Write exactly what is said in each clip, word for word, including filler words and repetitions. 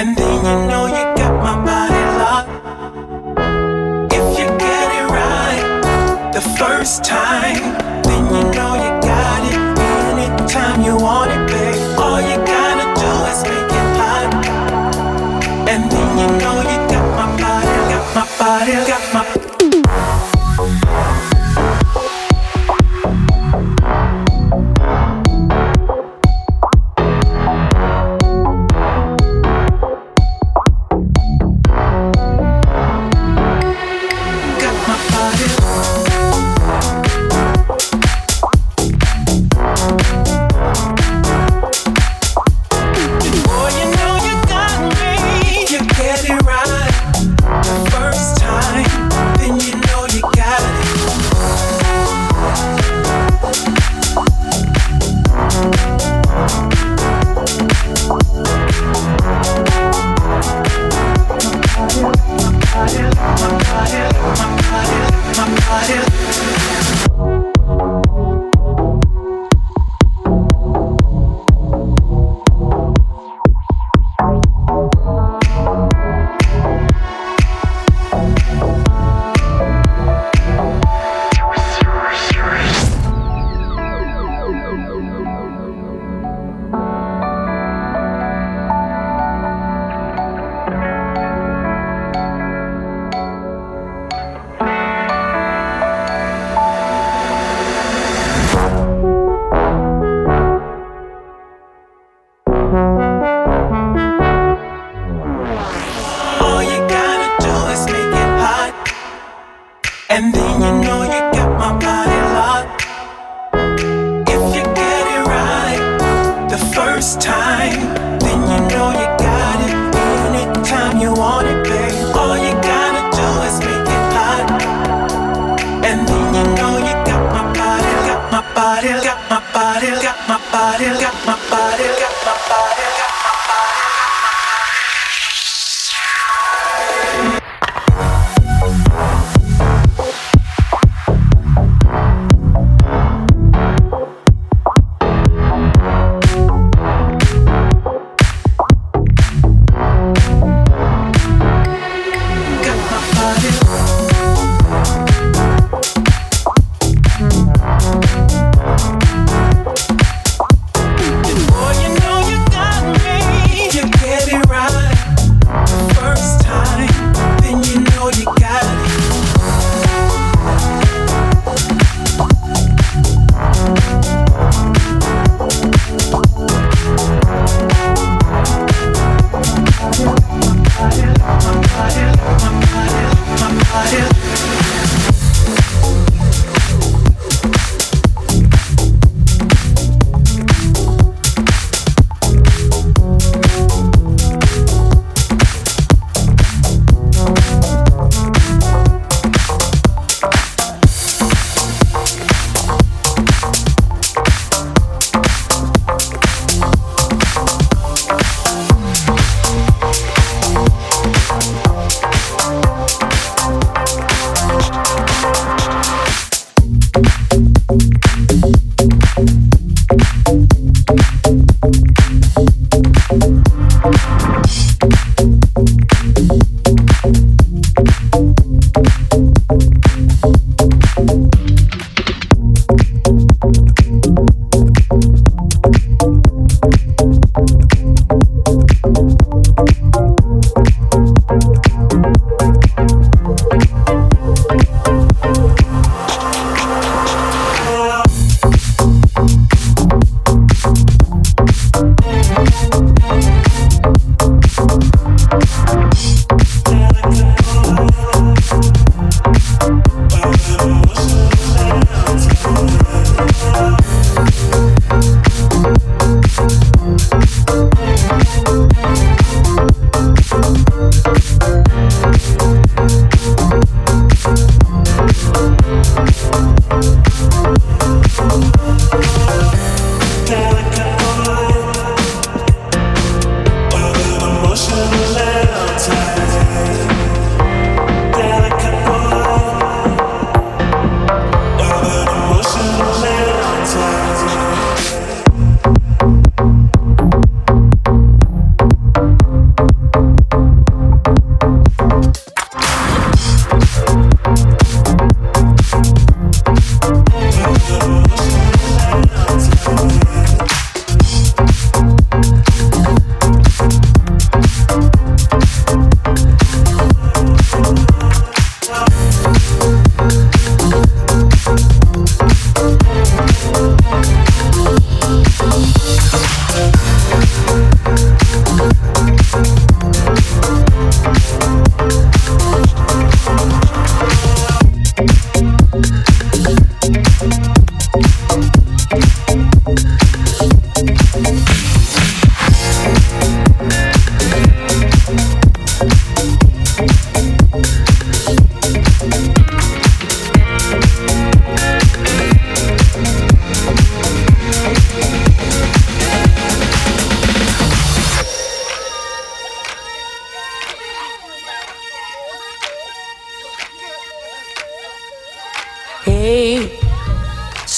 And then you know you got my body locked. If you get it right the first time, then you know you got it. Anytime you want it, babe, all you gotta do is make it hot. And then you know you got my body, got my body, got my and then you know you got my body locked. If you get it right the first time, then you know you got it. Anytime you want it, babe, all you gotta do is make it hot. And then you know you got my body, got my body, got my body, got my body, got my body, got my body, got my body.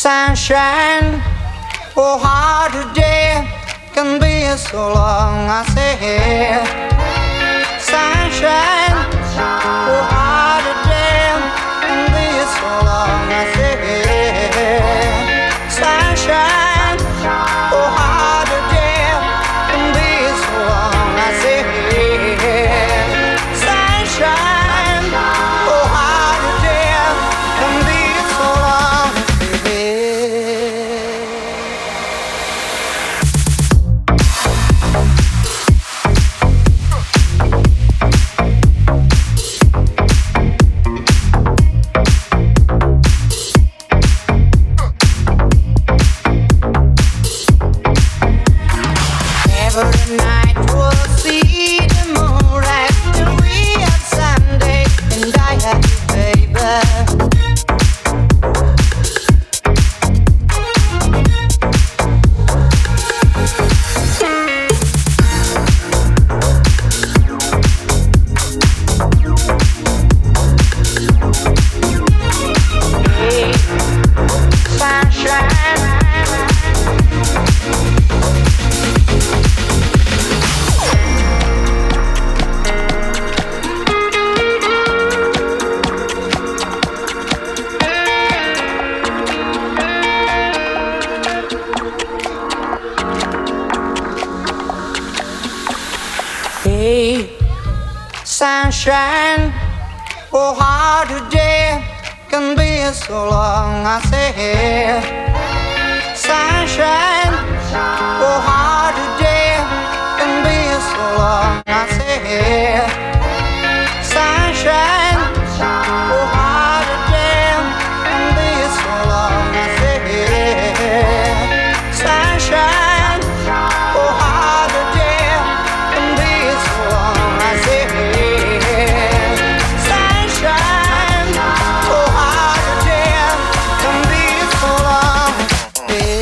sunshine. Oh, how the day can be so long, I say. Sunshine. Oh, how the day can be so long, I say. Sunshine. Oh, how the day can be so long, I say. Sunshine. Oh, how the day can be so long, I say. Every night we'll see the moon rise till we have Sunday, and I have you, baby. Hey, sunshine. Hey, sunshine. Oh, how the day can be so long, I say. Sunshine. Oh, how the day can be so long, I say. Sunshine. Oh, how the day can be so long, I say. Sunshine. Oh, how the day can be so long, I say. Sunshine. Oh, how the day can be so long, I say.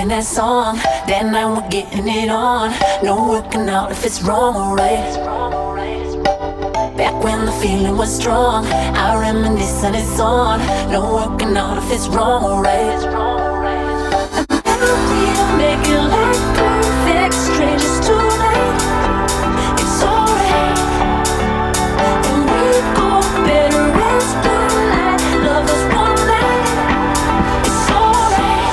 singing that song. That night we're getting it on. No working out if it's wrong or right. Back when the feeling was strong, I reminisce and it's on. No working out if it's wrong or right. The memory make it like perfect strangers tonight. It's alright. And we go better as moonlight. Love us one night. It's alright.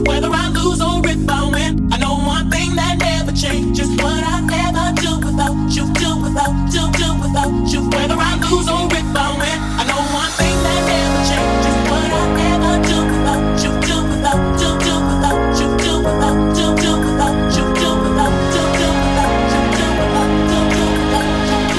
Whether I lose or if I win, I know one thing that never changes. What I never do without you, do without, do, do without you. Whether I lose or if I win, I know one thing that never changes. What I never do without you, do without, do, do without you, do without, do, do without you, do without, do, do without you, do without, do, do without you, do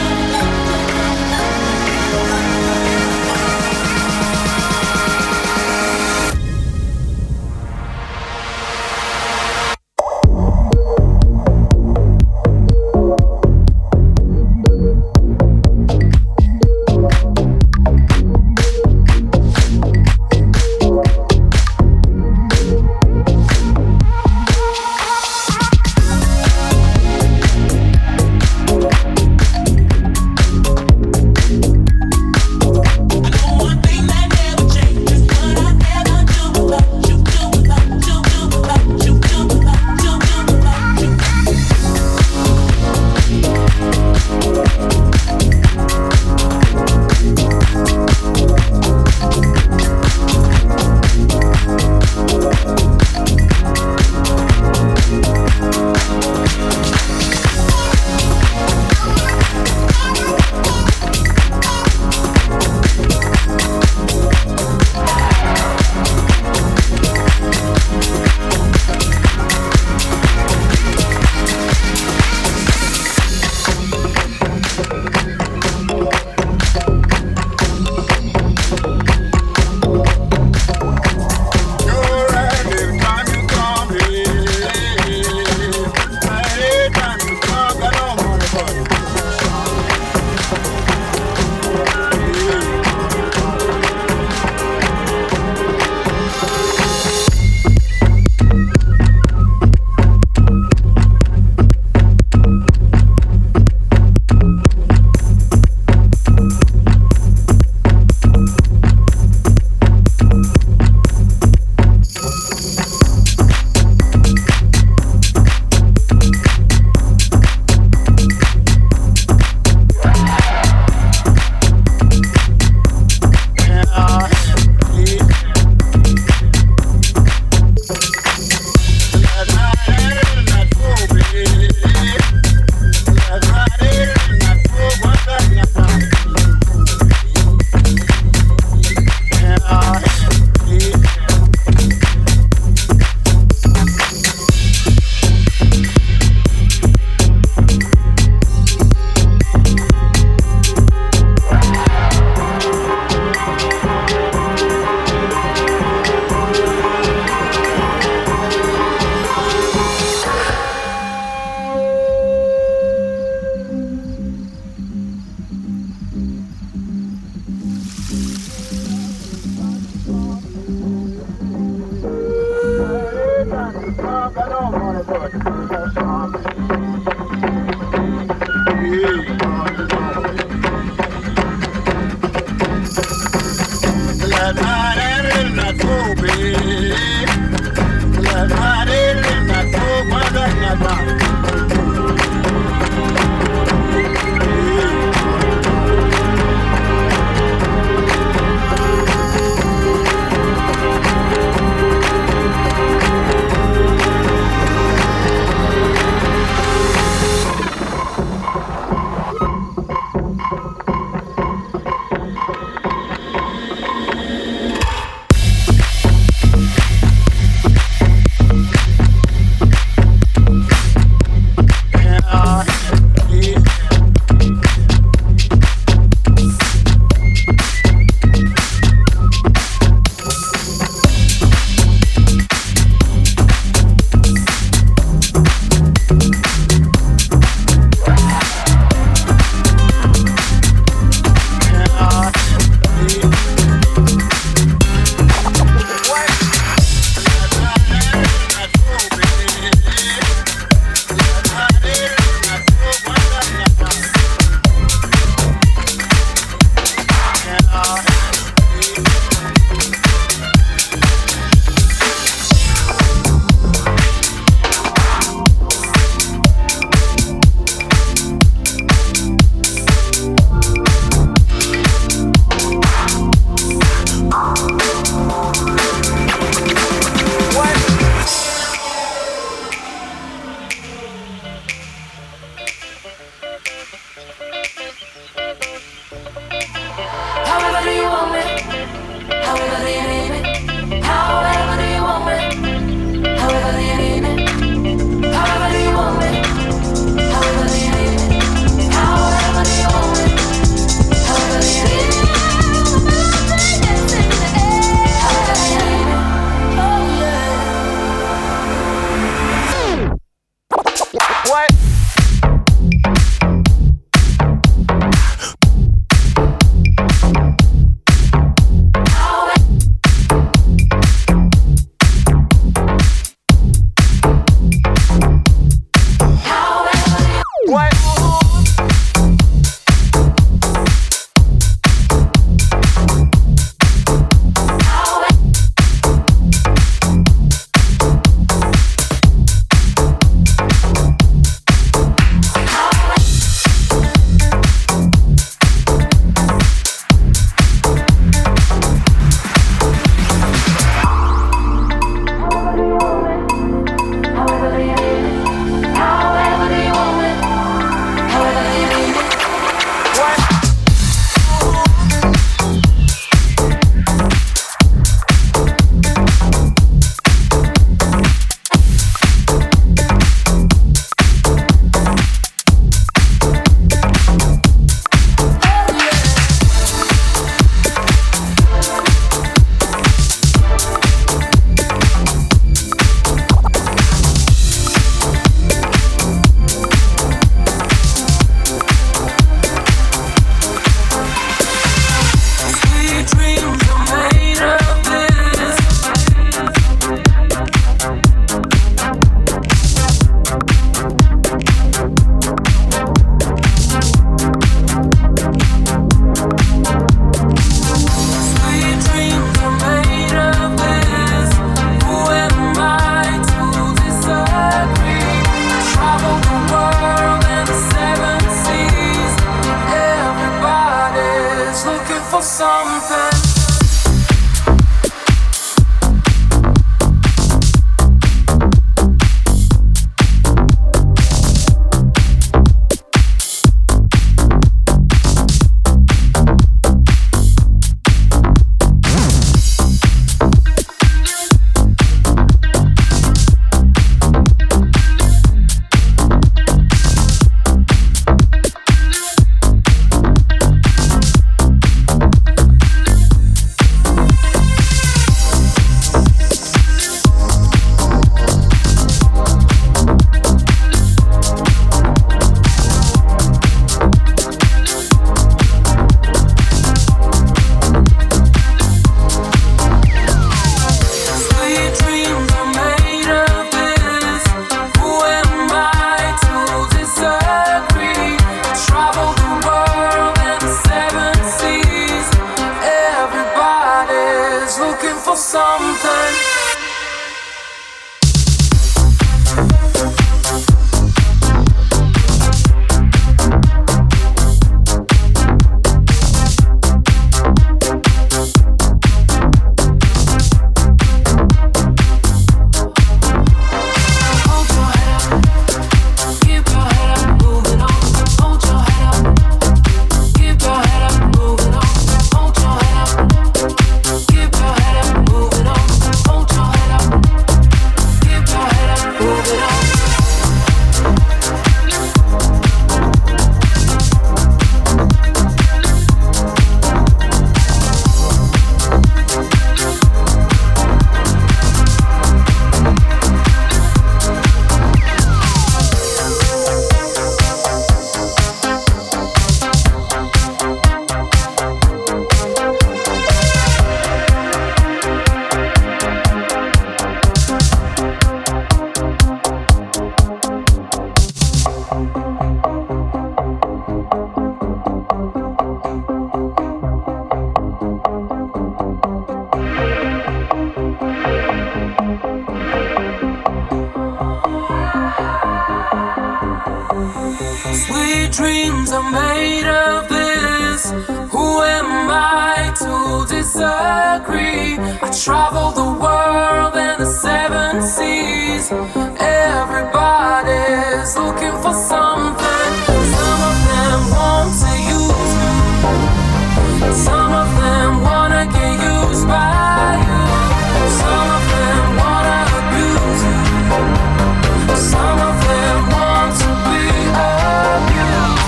Sweet dreams are made of this. Who am I to disagree? I travel the world and the seven seas. Everybody's looking for something. Some of them want to use me. Some of them wanna get used by you. Some of them wanna abuse you. Some of them want to be abused.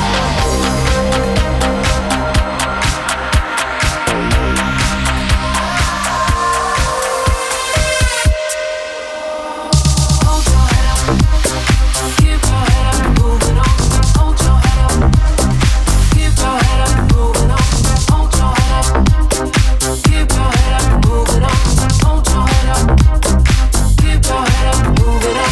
Hold your head up, keep your head up, moving on. Hold your head up, keep your head up, moving on. Hold your head up, keep your head up, moving on. Hold your head up, keep your head up, moving on.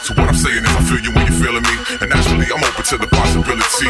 So what I'm saying is I feel you when you're feeling me, and naturally I'm open to the possibility.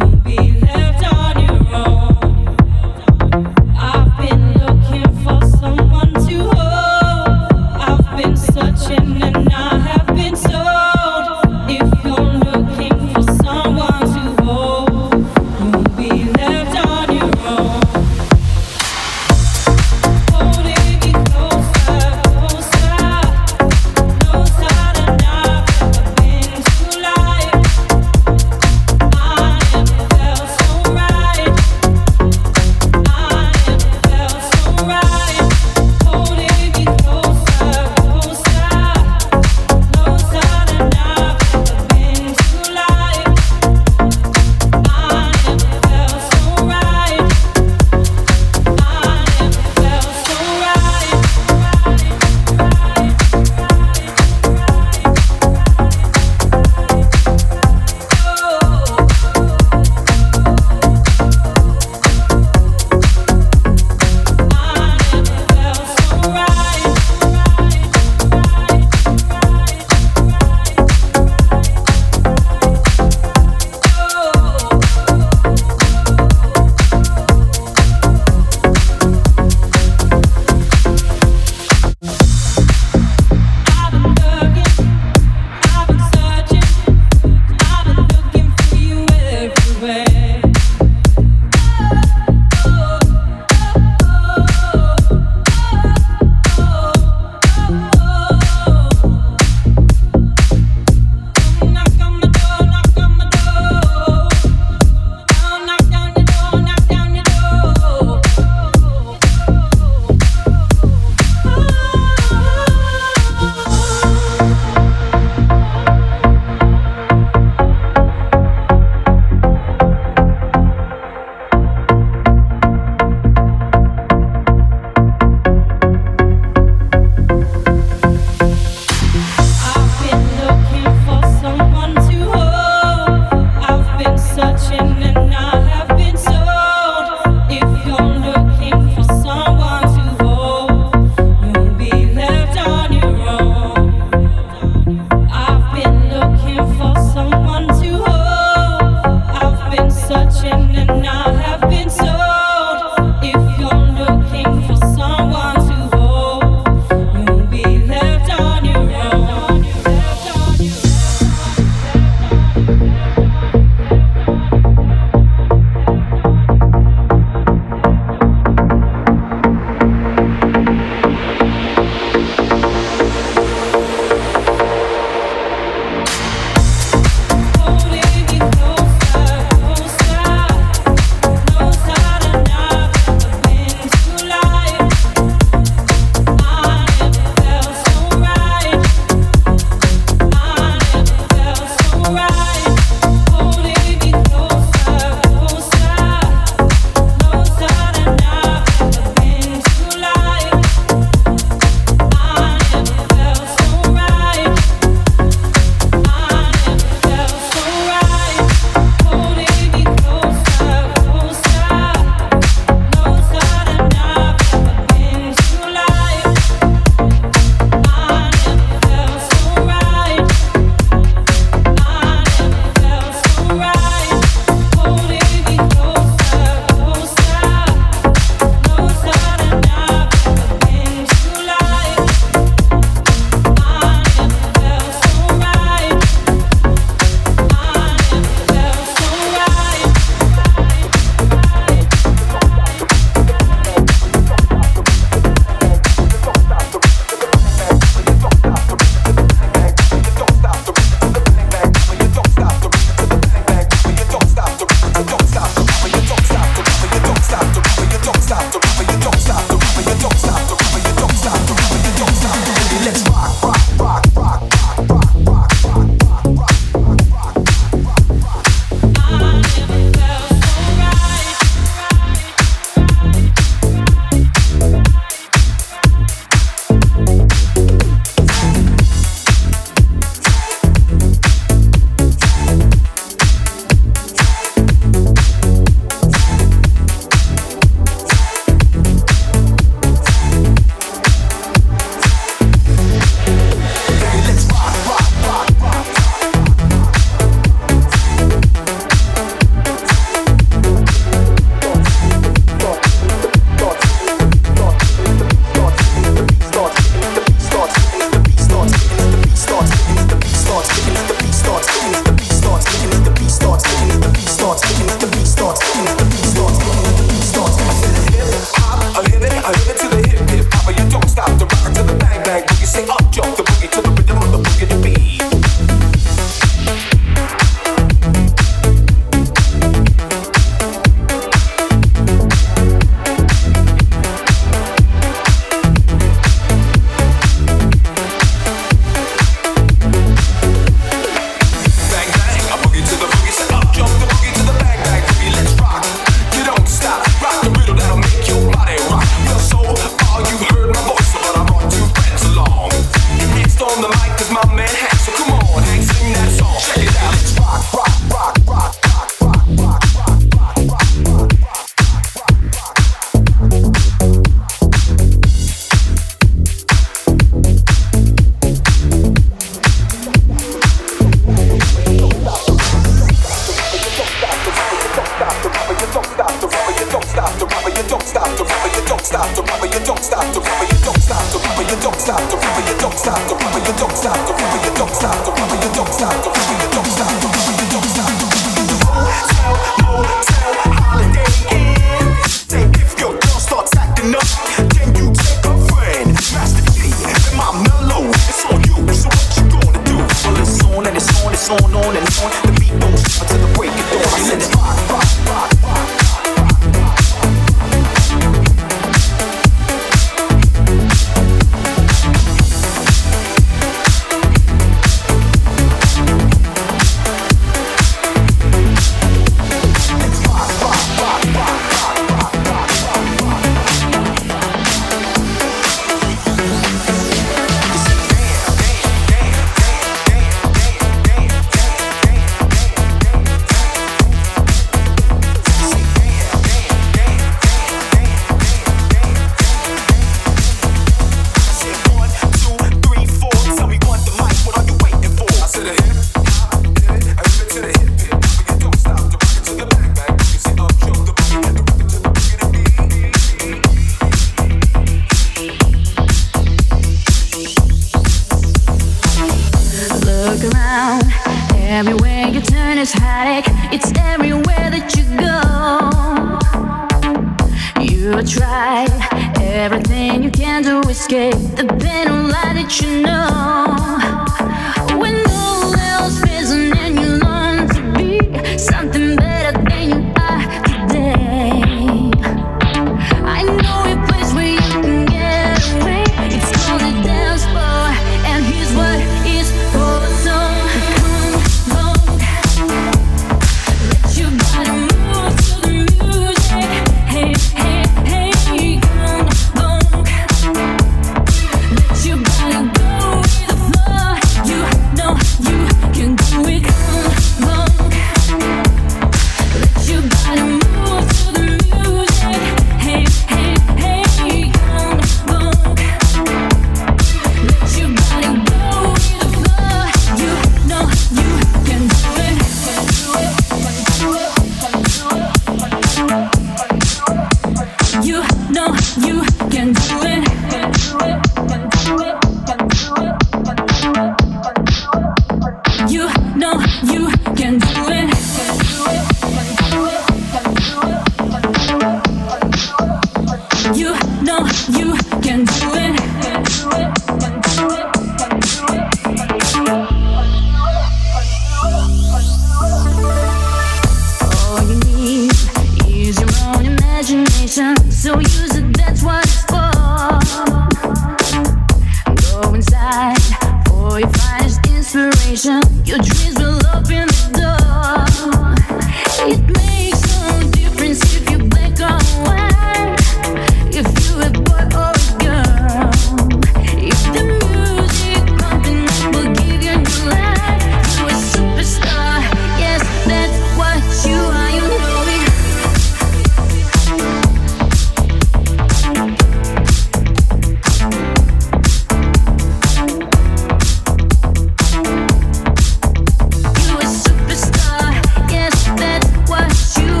You a superstar, yes, that's what you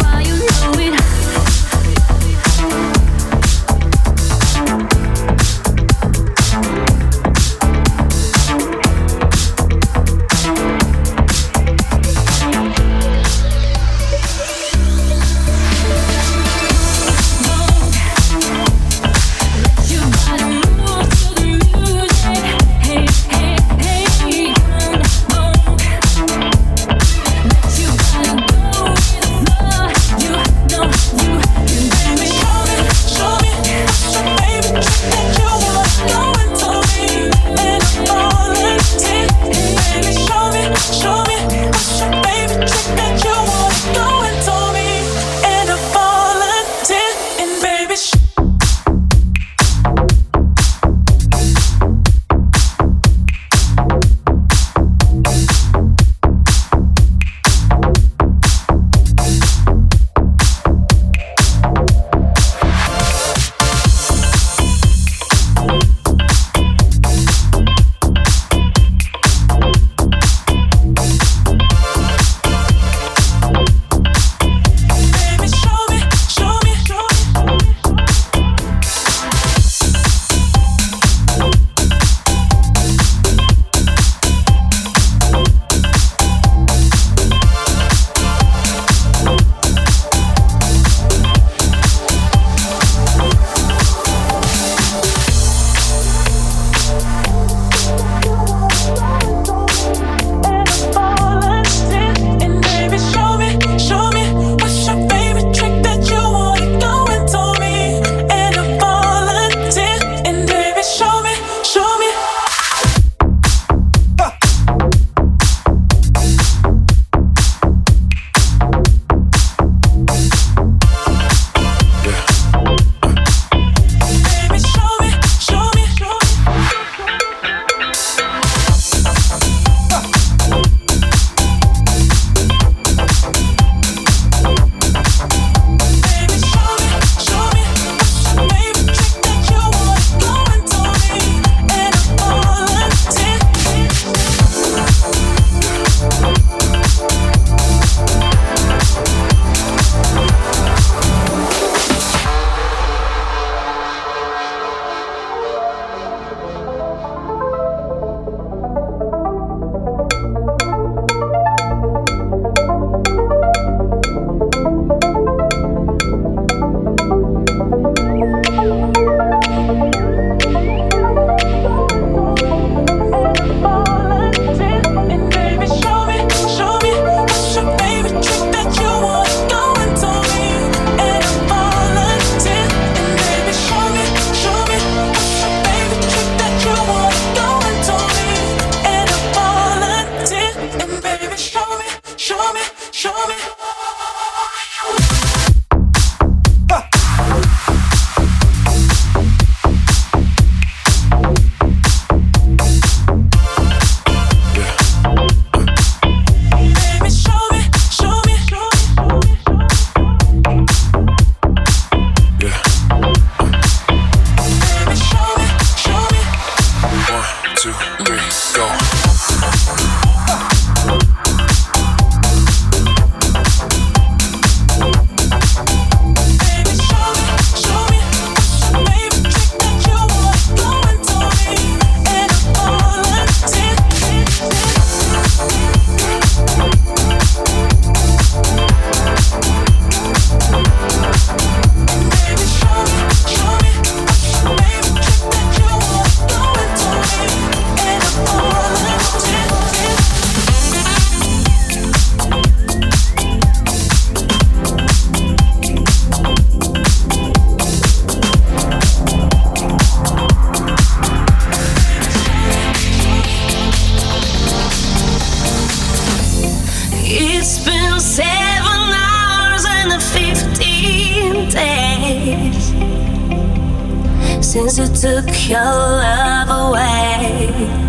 Since you took your love away,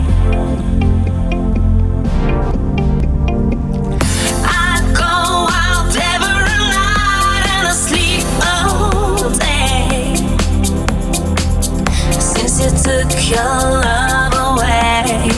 I go out every night and I sleep all day. Since you took your love away,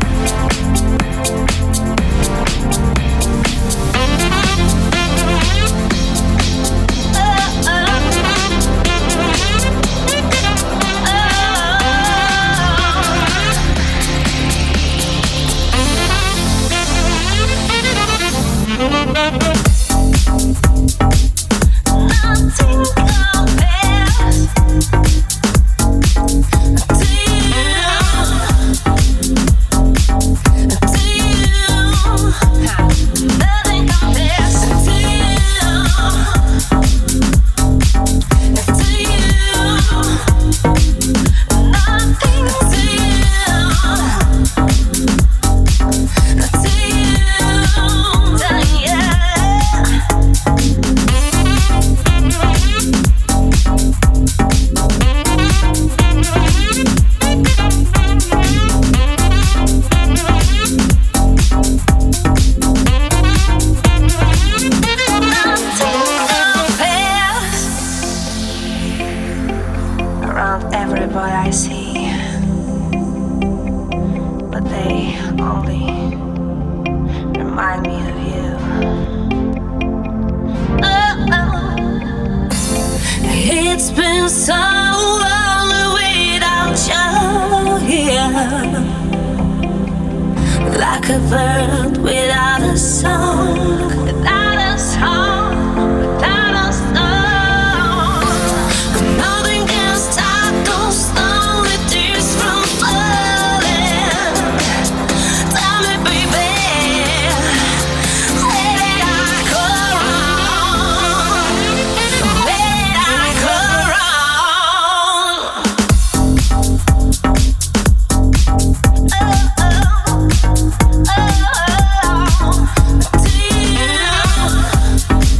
like a bird without a song, without a song, without a song. Nothing can stop those lonely tears from falling. Tell me, baby, where did I go wrong? Where did I go wrong? Oh, oh. Oh, to you.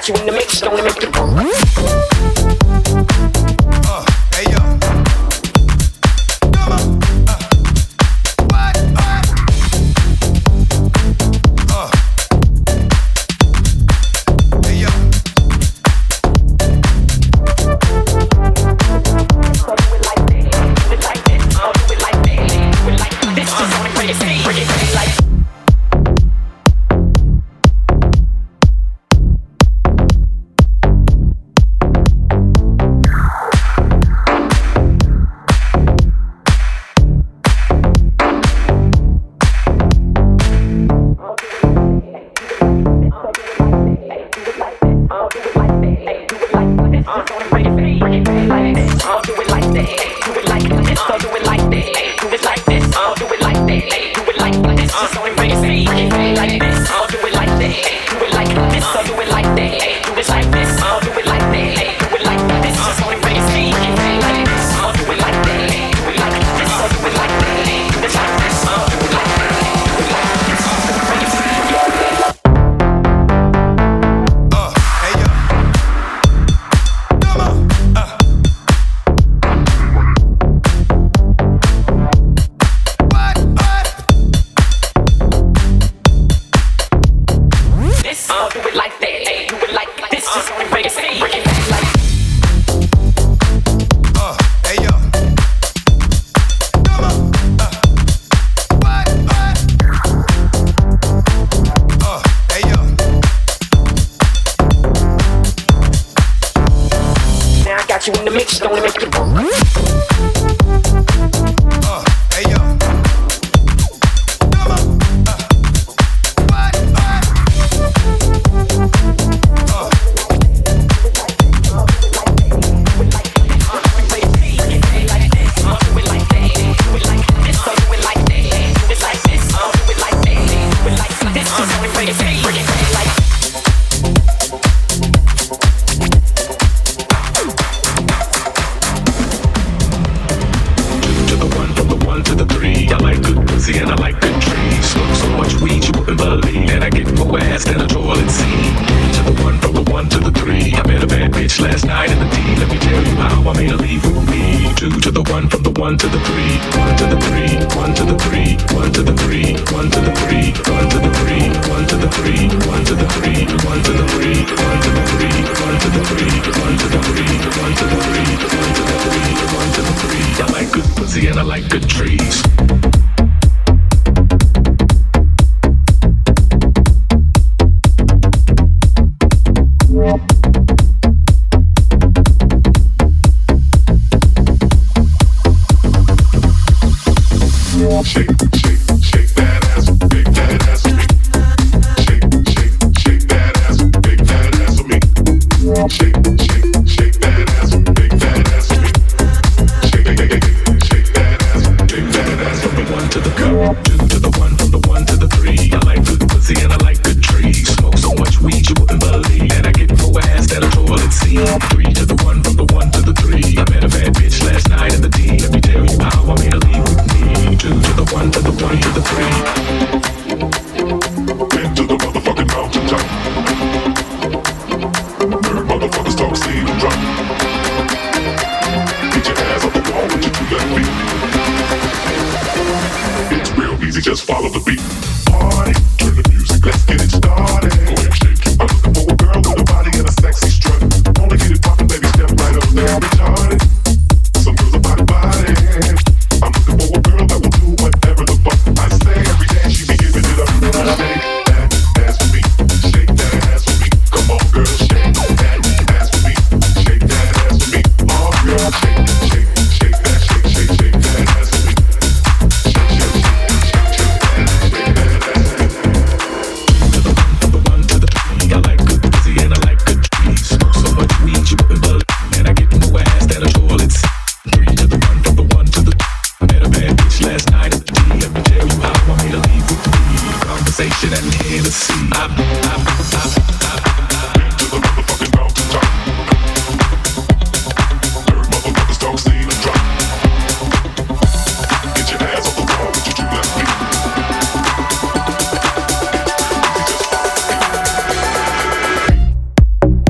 got you in the mix, gonna make you go. Uh, hey yo. Come on. Uh. What? What? Uh. Hey yo. So do it like this, do it like this, oh, do it like this, do it like this. Just wanna bring it, bring it, bring it like. You in the mix, gonna make you go. Uh, hey yo. Come on. Uh. What? What? Uh. And I like good trees. Smoke so much weed you wouldn't believe. And I get more ass than a toilet seat. To the one, from the one to the three. I met a bad bitch last night in the D. Let me tell you how I made her leave with me. Two to the one, from the one to the three. One to the three, one to the three, one to the three, one to the three, one to the three, one to the three, one to the three, one to the three, one to the three, one to the three, one to the three, one to the three, one to the three, one to the three. I like good pussy and I like good trees. Shake, shake, shake that ass, big that ass for me. Shake, shake, shake that ass, big that ass for me. Shake, shake, shake that ass, big that ass for me. Shake, shake, shake, shake that ass, big that ass for me. One to the cup, two to the one, from the one to the three. I like good pussy and I like good trees. Smoke so much weed you wouldn't believe. And I get more ass than a toilet seat. Three to the one, from the one to the three. I met a bad bitch last night in the D. Let me tell you how I made her leave with me. Two to the one, to the one, to the three. Into the motherfucking mountaintop. Heard motherfuckers talk, see them drop. Get your ass off the wall with your two left feet. It's real easy, just follow the beat. Party, turn the music, let's get it started. Go ahead, shake it. I'm looking for a girl with a body and a sexy strut. Wanna get it poppin', baby, step right up there, retarded. Some girls are body body. I'm looking for a girl that will do whatever the fuck I say. Every day she be giving it up. Shake that ass for me. Shake that ass for me. Come on, girl, shake that ass for me. Shake that ass for me. Oh, girl, shake, shake, shake that, shake, shake, shake that ass for me. Shake, shake, shake, shake, shake that, shake that ass for me. To the one, from the one to the three. I like good pussy and I like good trees. Smoke so much weed you wouldn't believe. And I get more ass than a toilet seat. Three to the one, from the one to the two. I met a bad bitch last night at the D. Let me tell you how I made her leave with me. Conversation and Hennessy. I, I, I, I, I, been to the motherfucking mountaintop. Heard motherfuckers talk, see them drop. Get your ass off the wall with your two left feet. Easy, just follow the beat.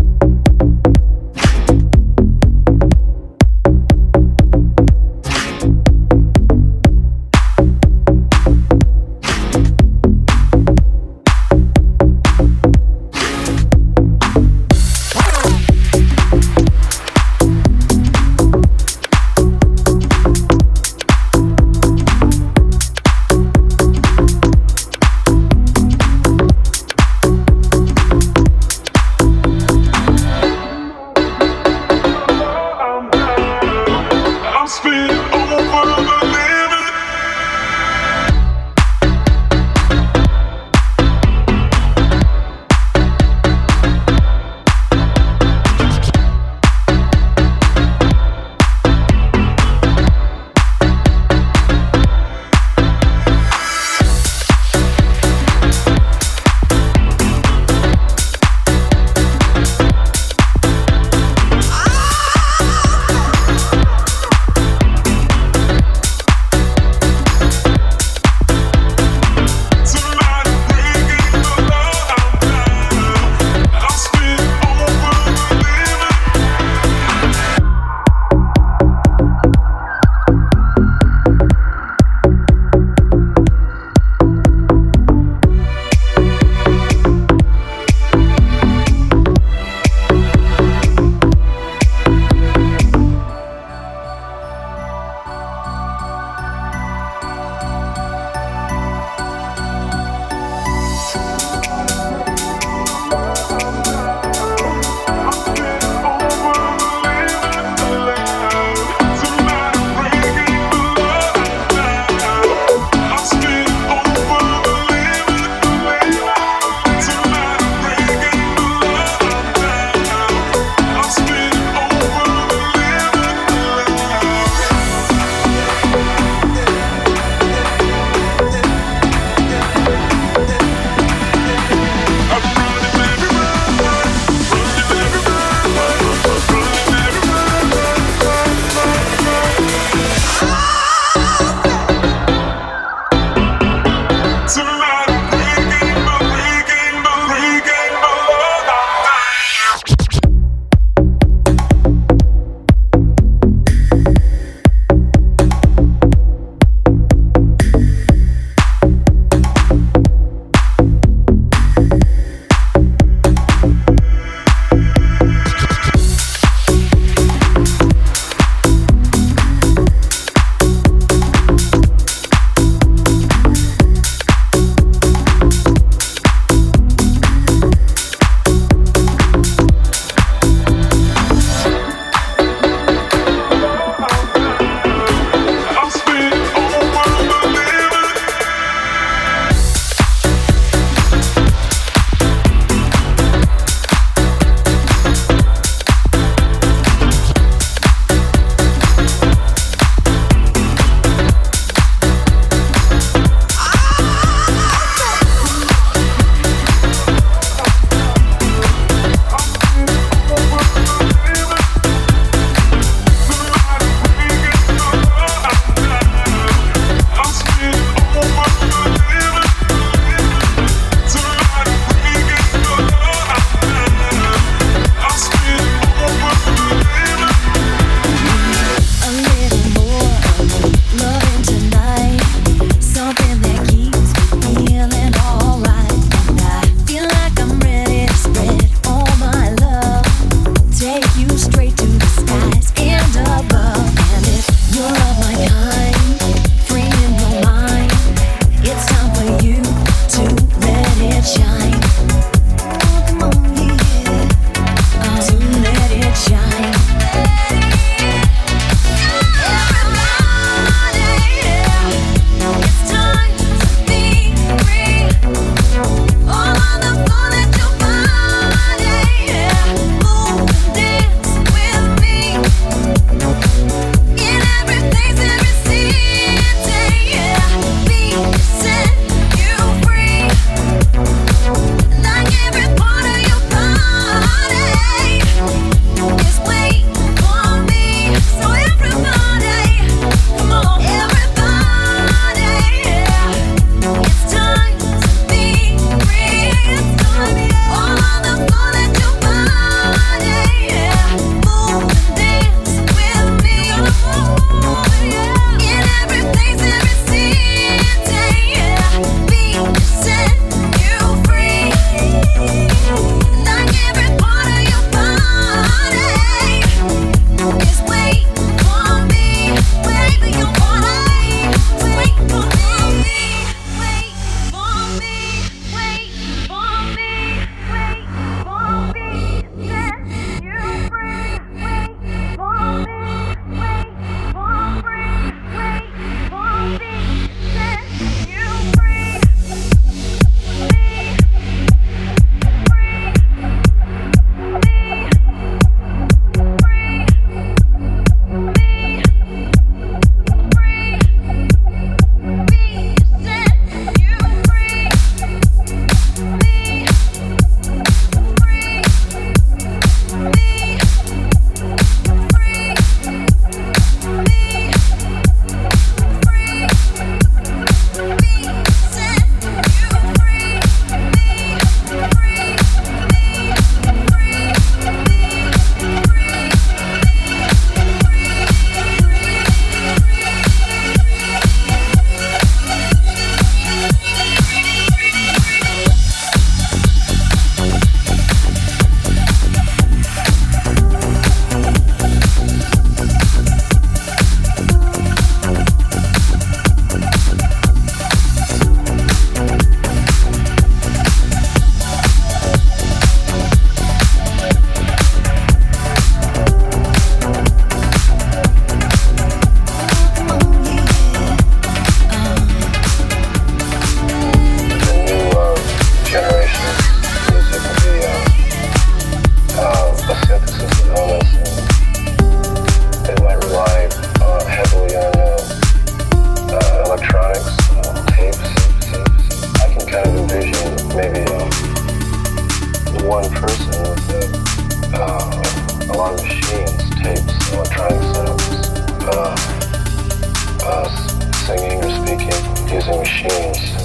uh, singing or speaking using machines.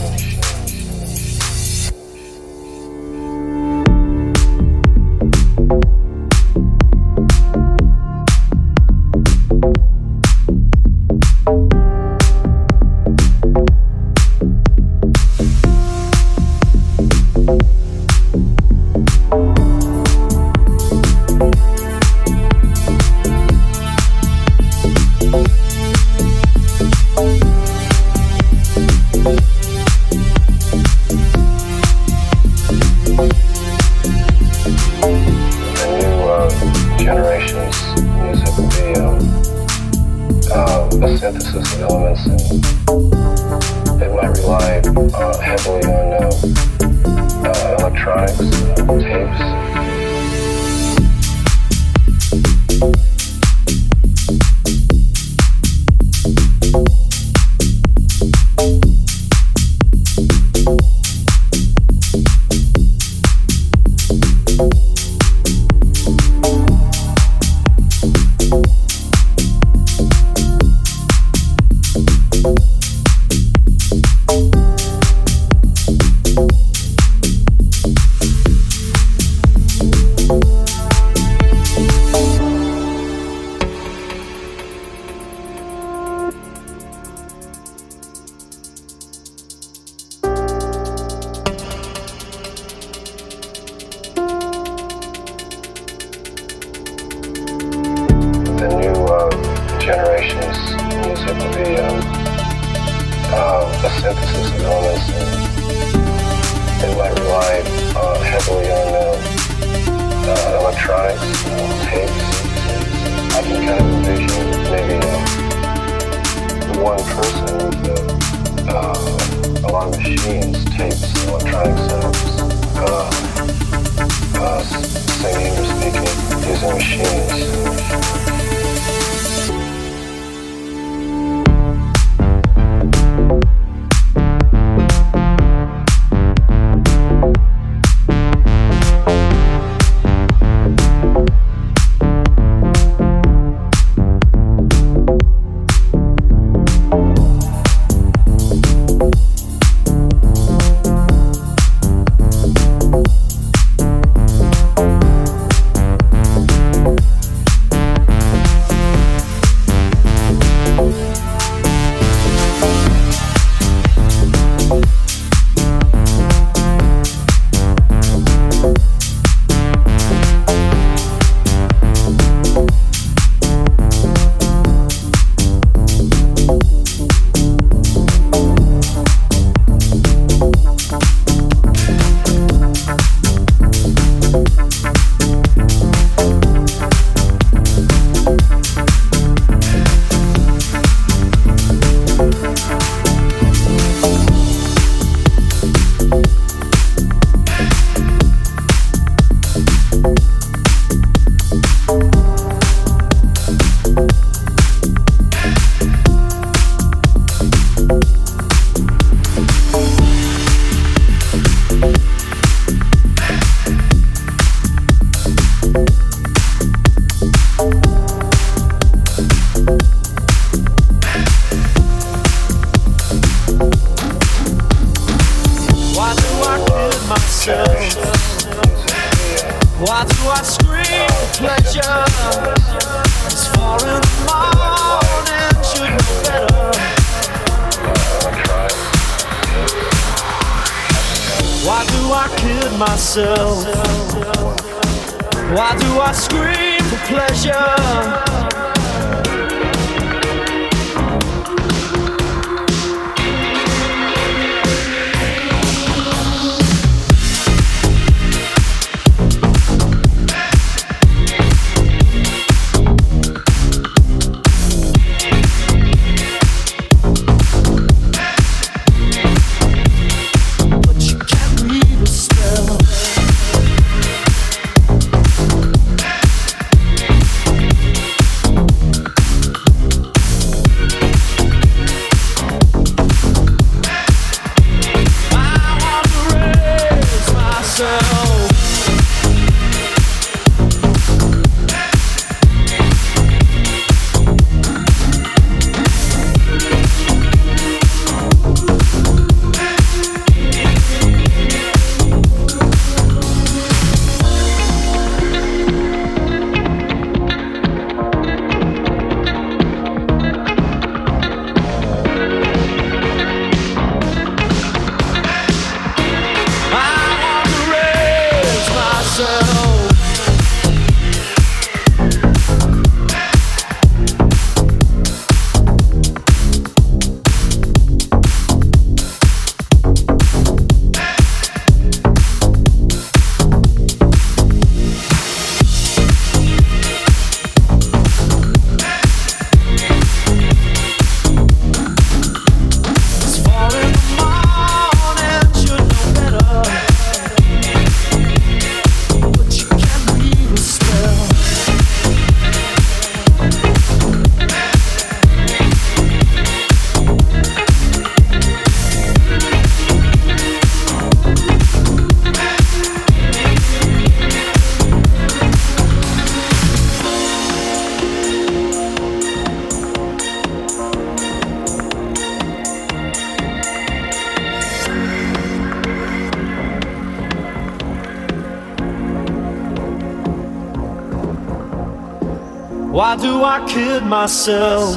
Why do I kid myself?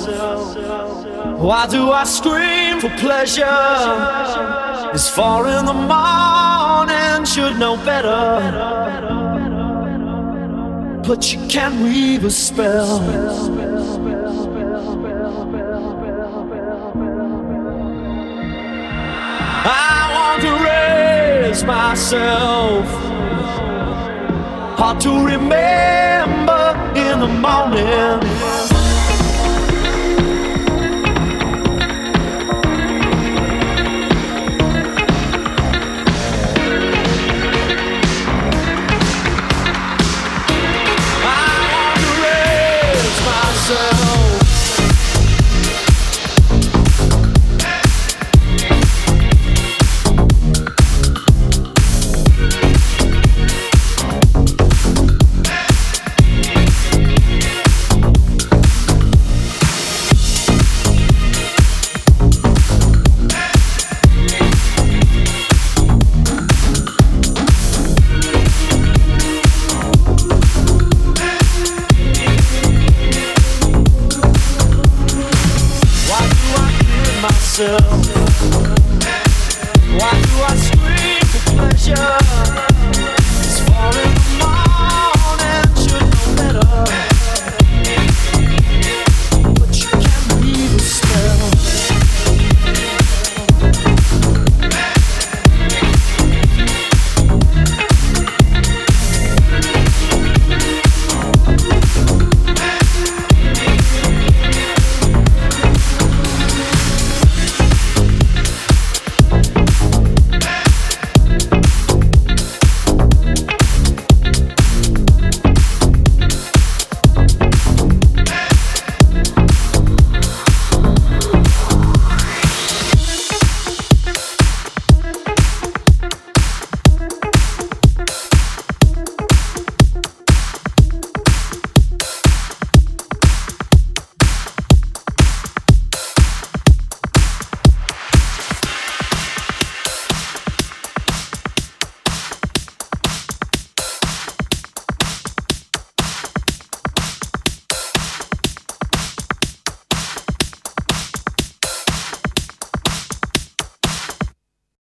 Why do I scream for pleasure? It's four in the morning, should know better. But you can't weave a spell. I want to raise myself, hard to remember in the morning. I want to raise myself. Myself.